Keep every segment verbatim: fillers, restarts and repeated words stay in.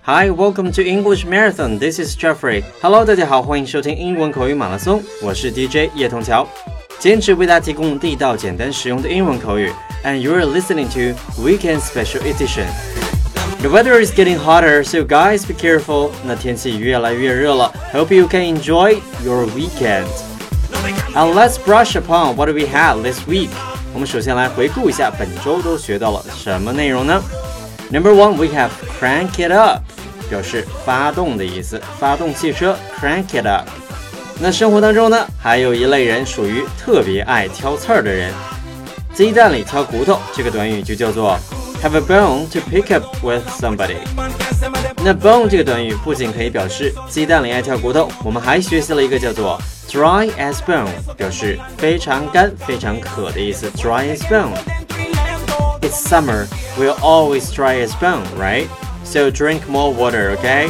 Hi, welcome to English Marathon. This is Jeffrey. Hello, 大家好，欢迎收听英文口语马拉松。我是 D J 叶童桥，坚持为大家提供地道、简单、实用的英文口语。And you're listening to Weekend Special Edition.The weather is getting hotter, so guys, be careful. 那天气越来越热了 Hope you can enjoy your weekend. And let's brush upon what we had this week. 我们首先来回顾一下本周都学到了什么内容呢？ Number one, we have crank it up. 表示发动的意思，发动汽车 crank it up. 那生活当中呢，还有一类人属于特别爱挑刺儿的人。鸡蛋里挑骨头这个短语就叫做Have a bone to pick up with somebody. 那 bone 这个短语不仅可以表示鸡蛋里爱挑骨头，我们还学习了一个叫做 dry as bone, 表示非常干、非常渴的意思。Dry as bone. It's summer. We're always dry as bone, right? So drink more water, okay?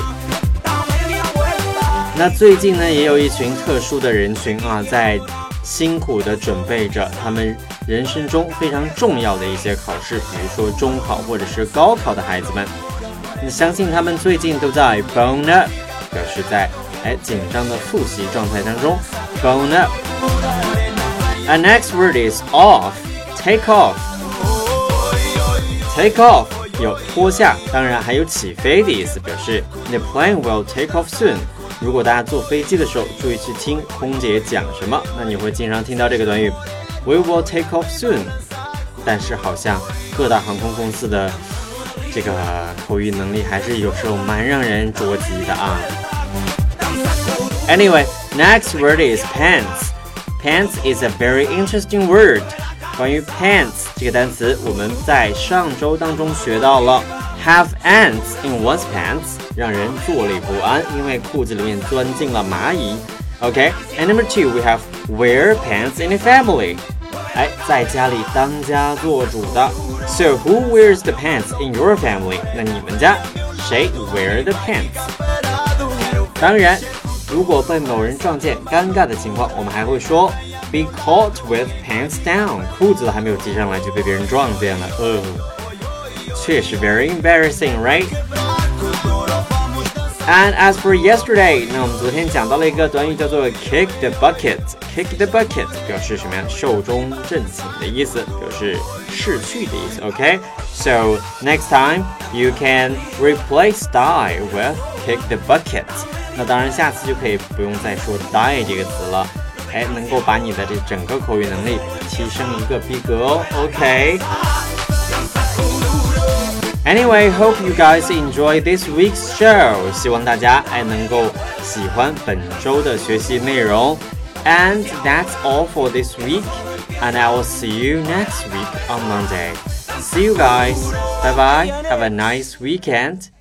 那最近呢，也有一群特殊的人群啊，在辛苦地准备着他们人生中非常重要的一些考试，比如说中考或者是高考的孩子们。那相信他们最近都在 bone up, 表示在哎紧张的复习状态当中 bone up. Our next word is off. Take off. Take off 有脱下，当然还有起飞的意思，表示 The plane will take off soon.如果大家坐飞机的时候注意去听空姐讲什么，那你会经常听到这个短语 We will take off soon. 但是好像各大航空公司的这个口语能力还是有时候蛮让人着急的啊。Anyway, next word is pants. Pants is a very interesting word. 关于 pants 这个单词，我们在上周当中学到了Have ants in one's pants, 让人坐立不安，因为裤子里面钻进了蚂蚁。Okay, and number two, we have wear pants in a family. 哎，在家里当家做主的。So who wears the pants in your family? 那你们家谁 wear the pants? 当然，如果被某人撞见，尴尬的情况，我们还会说 be caught with pants down. 裤子都还没有系上来就被别人撞见了。呃。确实 very embarrassing, right? And as for yesterday, 那我们昨天讲到了一个短语叫做 kick the bucket. Kick the bucket 表示什么呀？寿终正寝的意思，表示逝去的意思。Okay? So next time you can replace die with kick the bucket. 那当然下次就可以不用再说 die 这个词了，哎，能够把你的这整个口语能力提升一个逼格哦。Okay?Anyway, hope you guys enjoy this week's show. 希望大家哎能够喜欢本周的学习内容。And that's all for this week. And I will see you next week on Monday. See you guys. Bye bye. Have a nice weekend.